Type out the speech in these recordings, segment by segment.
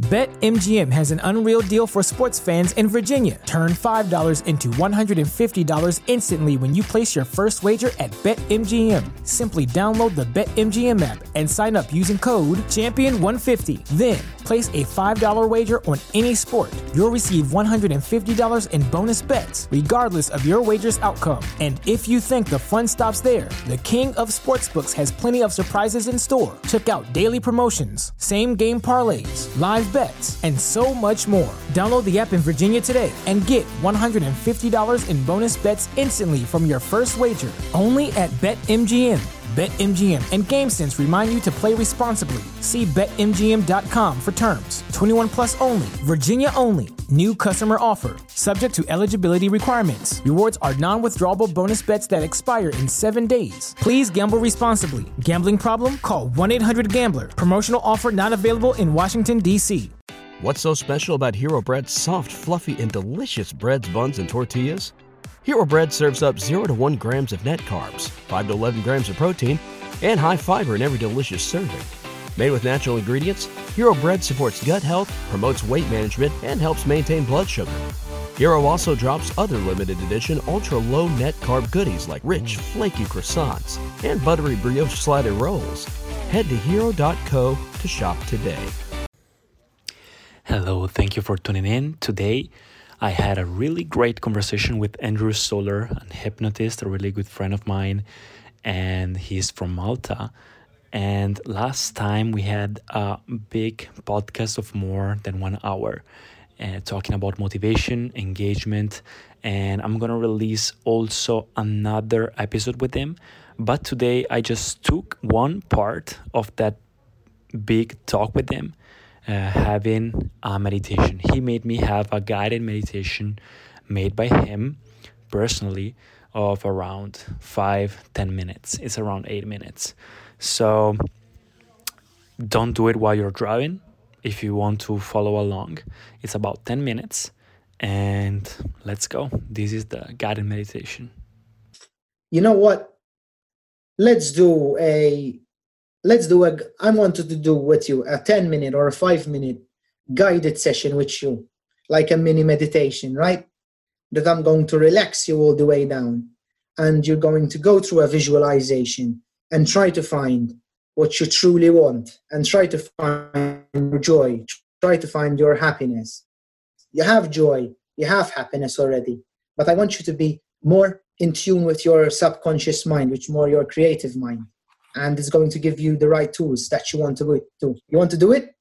BetMGM has an unreal deal for sports fans in Virginia. Turn $5 into $150 instantly when you place your first wager at BetMGM. Simply download the BetMGM app and sign up using code Champion150. Then, place a $5 wager on any sport. You'll receive $150 in bonus bets, regardless of your wager's outcome. And if you think the fun stops there, the King of Sportsbooks has plenty of surprises in store. Check out daily promotions, same-game parlays, live bets, and so much more. Download the app in Virginia today and get $150 in bonus bets instantly from your first wager. Only at BetMGM. BetMGM and GameSense remind you to play responsibly. See BetMGM.com for terms. 21 plus only. Virginia only. New customer offer. Subject to eligibility requirements. Rewards are non-withdrawable bonus bets that expire in 7 days. Please gamble responsibly. Gambling problem? Call 1-800-GAMBLER. Promotional offer not available in Washington, D.C. What's so special about Hero Bread's soft, fluffy, and delicious breads, buns, and tortillas? Hero Bread serves up 0 to 1 grams of net carbs, 5 to 11 grams of protein, and high fiber in every delicious serving. Made with natural ingredients, Hero Bread supports gut health, promotes weight management, and helps maintain blood sugar. Hero also drops other limited edition ultra-low net carb goodies like rich, flaky croissants and buttery brioche slider rolls. Head to hero.co to shop today. Hello, thank you for tuning in. Today, I had a really great conversation with Andrew Soler, a hypnotist, a really good friend of mine, and he's from Malta. And last time we had a big podcast of more than 1 hour, talking about motivation, engagement, and I'm going to release also another episode with him. But today I just took one part of that big talk with him, having a meditation. He made me have a guided meditation made by him personally of around 5-10 minutes. It's around 8 minutes. So don't do it while you're driving. If you want to follow along, it's about 10 minutes and let's go. This is the guided meditation. You know what? I wanted to do with you a 10-minute or a 5-minute guided session with you, like a mini meditation, right? That I'm going to relax you all the way down. And you're going to go through a visualization and try to find what you truly want and try to find your joy, try to find your happiness. You have joy, you have happiness already, but I want you to be more in tune with your subconscious mind, which more your creative mind. And it's going to give you the right tools that you want to do. You want to do it?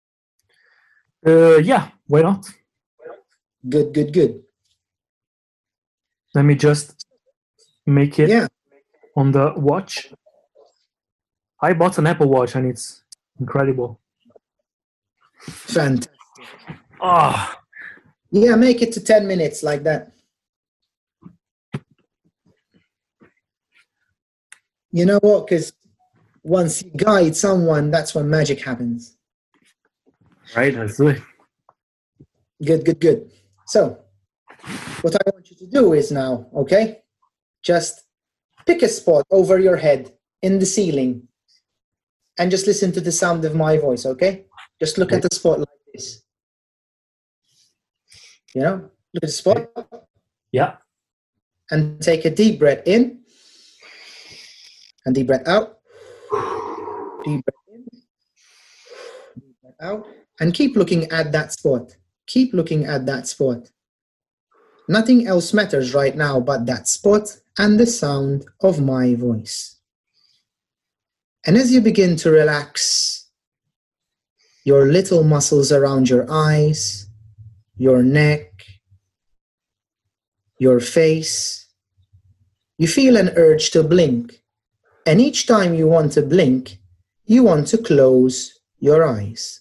Yeah, why not? Good. Let me just make it on the watch. I bought an Apple Watch and it's incredible. Fantastic. Oh. Yeah, make it to 10 minutes like that. You know what? Because once you guide someone, that's when magic happens. Right, that's it. Good. So, what I want you to do is now, okay? Just pick a spot over your head in the ceiling and just listen to the sound of my voice, okay? Just look at the spot like this. You know, look at the spot. Yeah. And take a deep breath in and deep breath out. Deep breath in, deep breath out. And keep looking at that spot. Keep looking at that spot. Nothing else matters right now but that spot and the sound of my voice. And as you begin to relax your little muscles around your eyes, your neck, your face, you feel an urge to blink. And each time you want to blink, you want to close your eyes.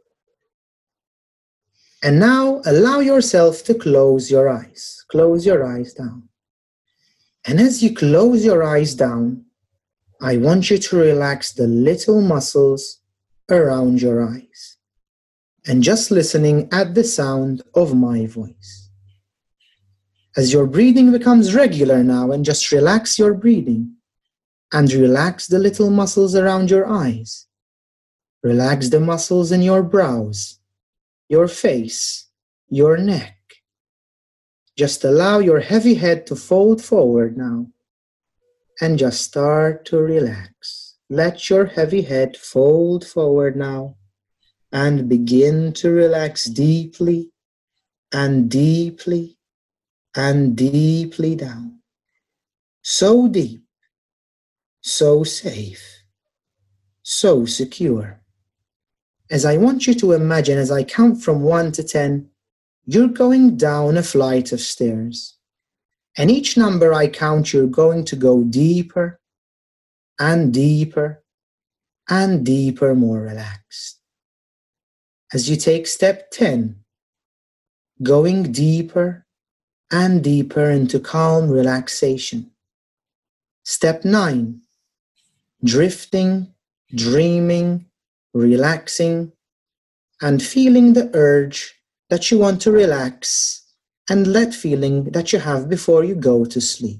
And now allow yourself to close your eyes. Close your eyes down. And as you close your eyes down, I want you to relax the little muscles around your eyes. And just listening at the sound of my voice. As your breathing becomes regular now, and just relax your breathing. And relax the little muscles around your eyes. Relax the muscles in your brows. your face, your neck. Just allow your heavy head to fold forward now and just start to relax. Let your heavy head fold forward now and begin to relax deeply and deeply and deeply down. So deep, so safe, so secure. As I want you to imagine, as I count from 1 to 10, you're going down a flight of stairs. And each number I count, you're going to go deeper and deeper and deeper, more relaxed. As you take step 10, going deeper and deeper into calm relaxation. Step 9, drifting, dreaming, relaxing, and feeling the urge that you want to relax and let feeling that you have before you go to sleep.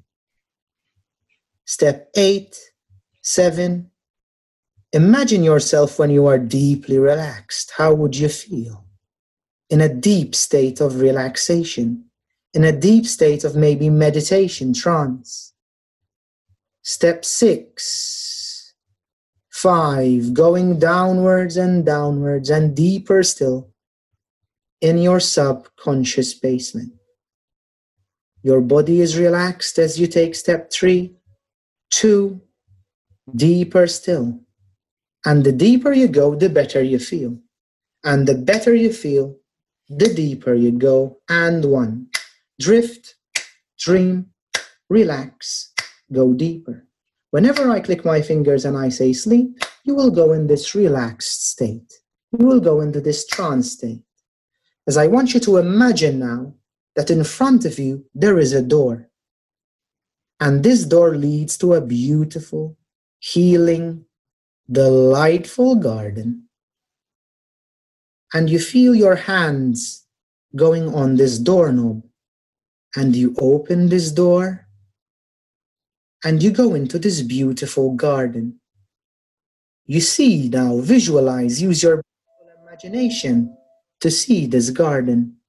Step 8, 7, imagine yourself when you are deeply relaxed. How would you feel? In a deep state of relaxation, in a deep state of maybe meditation, trance. Step 6, 5, going downwards and downwards and deeper still in your subconscious basement. Your body is relaxed as you take step 3, 2, deeper still. And the deeper you go, the better you feel. And the better you feel, the deeper you go. And 1, drift, dream, relax, go deeper. Whenever I click my fingers and I say sleep, you will go in this relaxed state. You will go into this trance state. As I want you to imagine now that in front of you there is a door. And this door leads to a beautiful, healing, delightful garden. And you feel your hands going on this doorknob. And you open this door and you go into this beautiful garden. You see now, visualize, use your imagination to see this garden.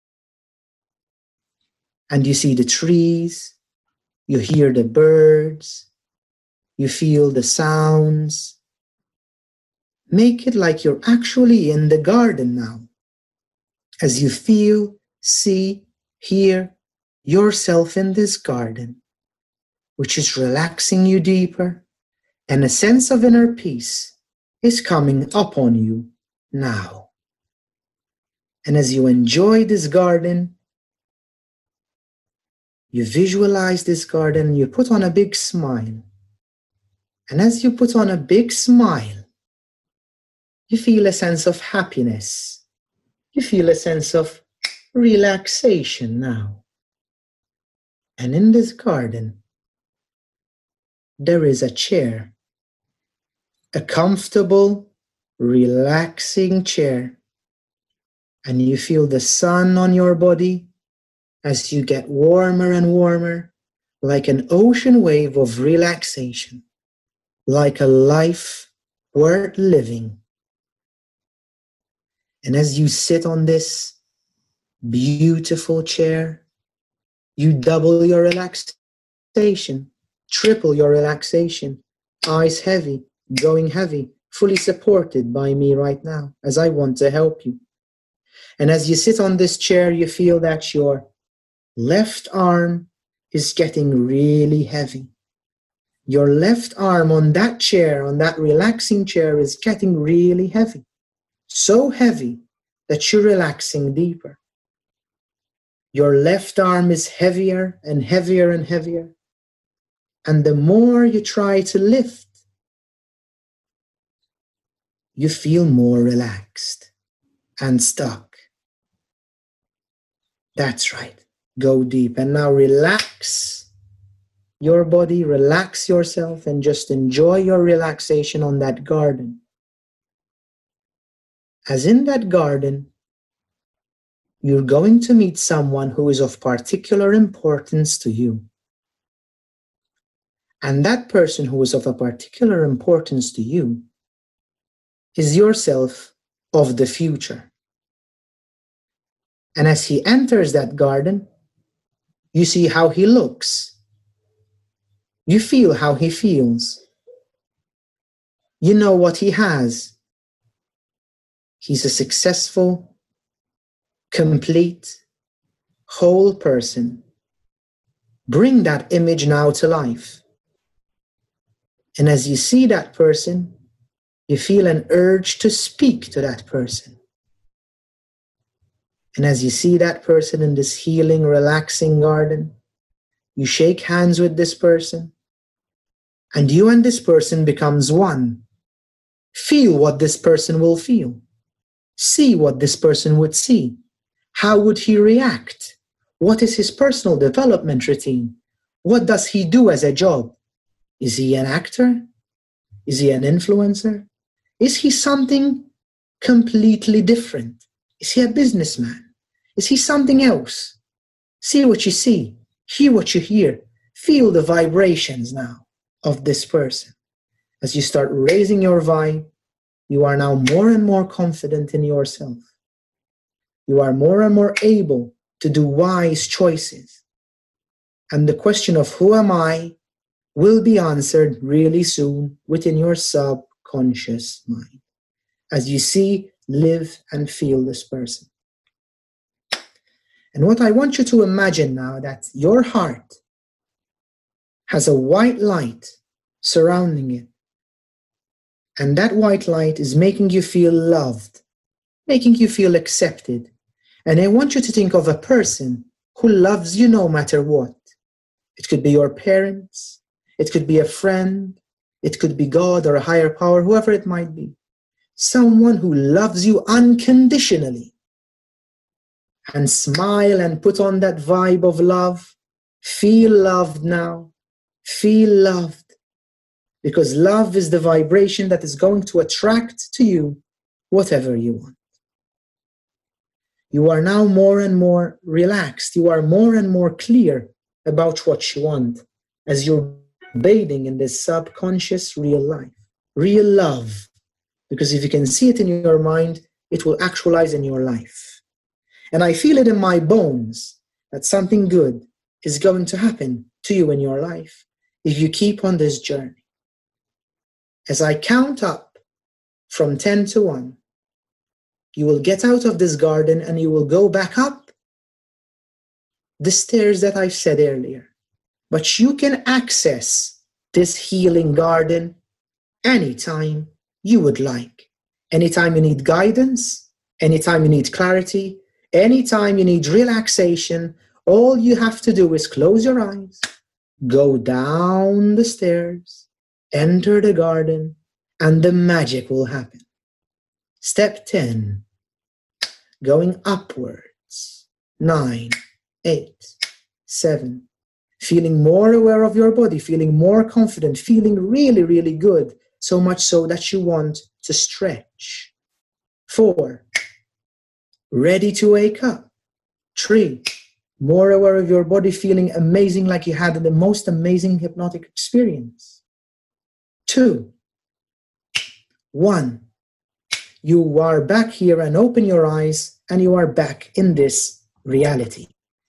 And you see the trees, you hear the birds, you feel the sounds. Make it like you're actually in the garden now. As you feel, see, hear yourself in this garden, which is relaxing you deeper, and a sense of inner peace is coming upon you now. And as you enjoy this garden, you visualize this garden and you put on a big smile. And as you put on a big smile, you feel a sense of happiness. You feel a sense of relaxation now. And in this garden, there is a chair, a comfortable, relaxing chair. And you feel the sun on your body as you get warmer and warmer, like an ocean wave of relaxation, like a life worth living. And as you sit on this beautiful chair, you double your relaxation, triple your relaxation, eyes heavy, going heavy, fully supported by me right now as I want to help you. And as you sit on this chair, you feel that your left arm is getting really heavy. Your left arm on that chair, on that relaxing chair, is getting really heavy. So heavy that you're relaxing deeper. Your left arm is heavier and heavier and heavier. And the more you try to lift, you feel more relaxed and stuck. That's right. Go deep. And now relax your body, relax yourself, and just enjoy your relaxation on that garden. As in that garden, you're going to meet someone who is of particular importance to you. And that person who is of a particular importance to you is yourself of the future. And as he enters that garden, you see how he looks. You feel how he feels. You know what he has. He's a successful, complete, whole person. Bring that image now to life. And as you see that person, you feel an urge to speak to that person. And as you see that person in this healing, relaxing garden, you shake hands with this person, and you and this person becomes one. Feel what this person will feel. See what this person would see. How would he react? What is his personal development routine? What does he do as a job? Is he an actor? Is he an influencer? Is he something completely different? Is he a businessman? Is he something else? See what you see. Hear what you hear. Feel the vibrations now of this person. As you start raising your vibe, you are now more and more confident in yourself. You are more and more able to do wise choices. And the question of who am I will be answered really soon within your subconscious mind as you see, live, and feel this person. And what I want you to imagine now, that your heart has a white light surrounding it. And that white light is making you feel loved, making you feel accepted. And I want you to think of a person who loves you no matter what. It could be your parents, it could be a friend, it could be God or a higher power, whoever it might be. Someone who loves you unconditionally. And smile and put on that vibe of love. Feel loved now. Feel loved. Because love is the vibration that is going to attract to you whatever you want. You are now more and more relaxed. You are more and more clear about what you want as you're bathing in this subconscious real life, real love. Because if you can see it in your mind, it will actualize in your life. And I feel it in my bones that something good is going to happen to you in your life if you keep on this journey. As I count up from 10 to 1, you will get out of this garden and you will go back up the stairs that I said earlier. But you can access this healing garden anytime you would like. Anytime you need guidance, anytime you need clarity, anytime you need relaxation, all you have to do is close your eyes, go down the stairs, enter the garden, and the magic will happen. Step 10, going upwards. 9, 8, 7, feeling more aware of your body, feeling more confident, feeling really, really good, so much so that you want to stretch. 4, ready to wake up. 3, more aware of your body, feeling amazing, like you had the most amazing hypnotic experience. 2, 1, you are back here, and open your eyes and you are back in this reality.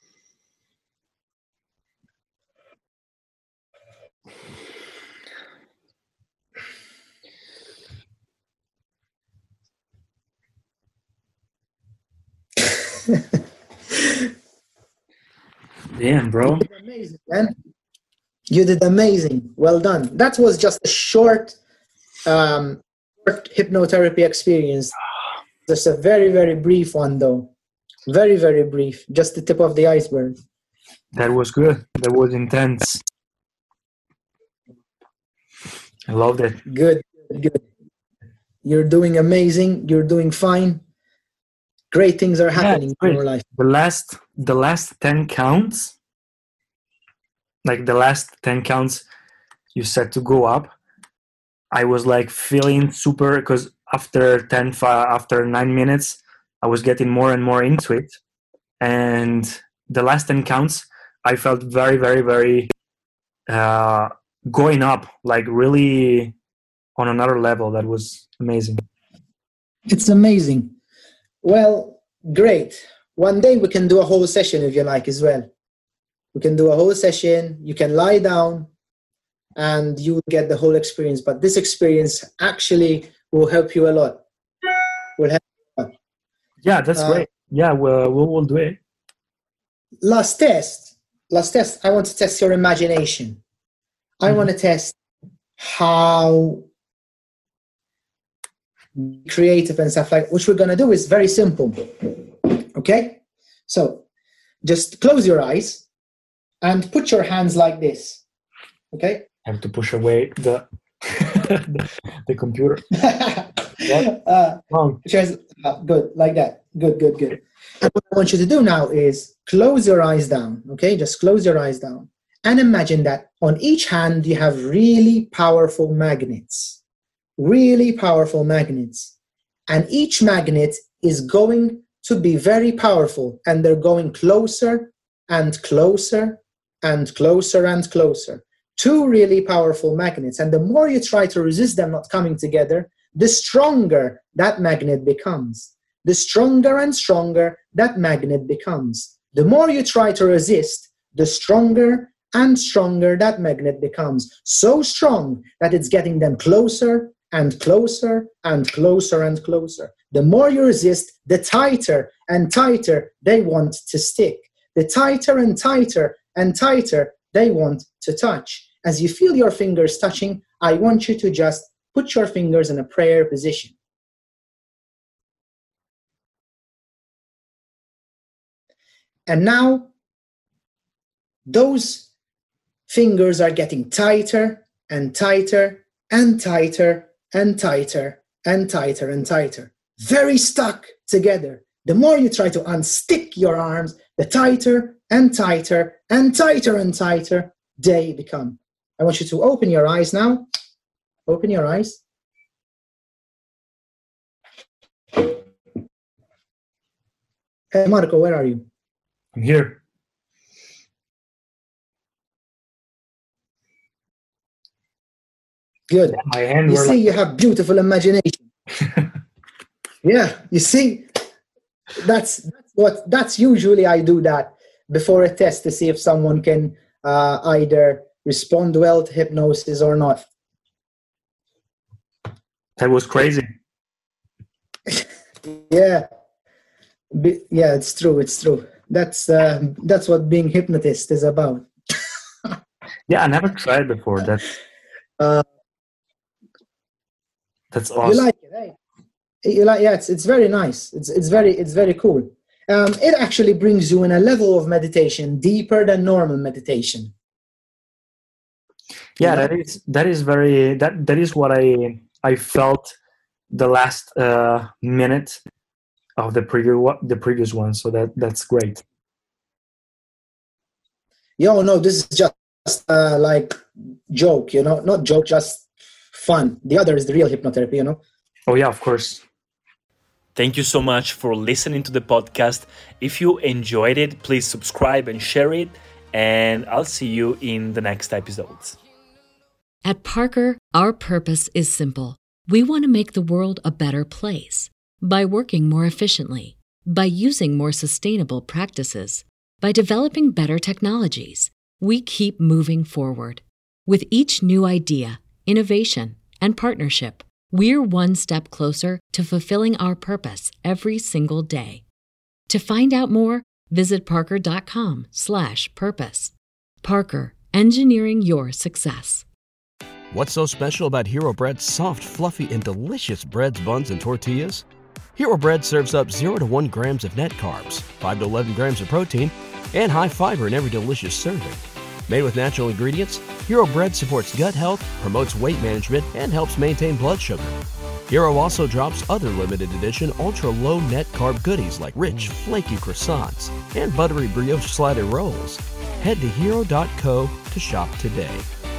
Damn, bro. You did amazing, man. You did amazing. Well done. That was just a short hypnotherapy experience. Just a very, very brief one, though. Very, very brief. Just the tip of the iceberg. That was good. That was intense. I loved it. Good, good. You're doing amazing. You're doing fine. Great things are happening in your life. The last 10 counts, like the last 10 counts you said to go up, I was like feeling super, because after 9 minutes, I was getting more and more into it. And the last 10 counts, I felt very, very, very going up, like really on another level. That was amazing. It's amazing. Well, great. one day we can do a whole session if you like as well. We can do a whole session. You can lie down and you will get the whole experience. But this experience actually will help you a lot. Yeah, that's great. Yeah, we'll do it. Last test. I want to test your imagination. I want to test how creative and stuff like. What we're going to do is very simple. Okay? So just close your eyes and put your hands like this. Okay? I have to push away the the computer. Good, like that. Good. And what I want you to do now is close your eyes down. Okay? Just close your eyes down. And imagine that on each hand you have really powerful magnets. Really powerful magnets. And each magnet is going to be very powerful. And they're going closer and closer and closer and closer. Two really powerful magnets. And the more you try to resist them not coming together, the stronger that magnet becomes. The stronger and stronger that magnet becomes. The more you try to resist, the stronger and stronger that magnet becomes. So strong that it's getting them closer and closer and closer and closer. The more you resist, the tighter and tighter they want to stick. The tighter and tighter and tighter they want to touch. As you feel your fingers touching, I want you to just put your fingers in a prayer position. And now, those fingers are getting tighter and tighter and tighter and tighter and tighter and tighter. Very stuck together. The more you try to unstick your arms, the tighter and tighter and tighter and tighter they become. I want you to open your eyes now. Open your eyes. Hey, Marco, where are you? I'm here. Good. My hand you see, you have beautiful imagination. Yeah, you see, that's usually I do that before a test to see if someone can either respond well to hypnosis or not. That was crazy. Yeah, it's true. That's what being hypnotist is about. Yeah, I never tried before. That's awesome. You like it, eh? Yeah, it's very nice. It's very cool. It actually brings you in a level of meditation deeper than normal meditation. Yeah, that is what I felt the last minute of the previous one. So that's great. No, this is just like joke, not joke, just fun. The other is the real hypnotherapy, Oh yeah, of course. Thank you so much for listening to the podcast. If you enjoyed it, please subscribe and share it, and I'll see you in the next episodes. At Parker, our purpose is simple. We want to make the world a better place by working more efficiently, by using more sustainable practices, by developing better technologies. We keep moving forward. With each new idea, innovation, and partnership, we're one step closer to fulfilling our purpose every single day. To find out more, visit parker.com/purpose. Parker, engineering your success. What's so special about Hero Bread's soft, fluffy, and delicious breads, buns, and tortillas? Hero Bread serves up 0 to 1 grams of net carbs, 5 to 11 grams of protein, and high fiber in every delicious serving. Made with natural ingredients, Hero Bread supports gut health, promotes weight management, and helps maintain blood sugar. Hero also drops other limited edition ultra-low net carb goodies like rich, flaky croissants and buttery brioche slider rolls. Head to hero.co to shop today.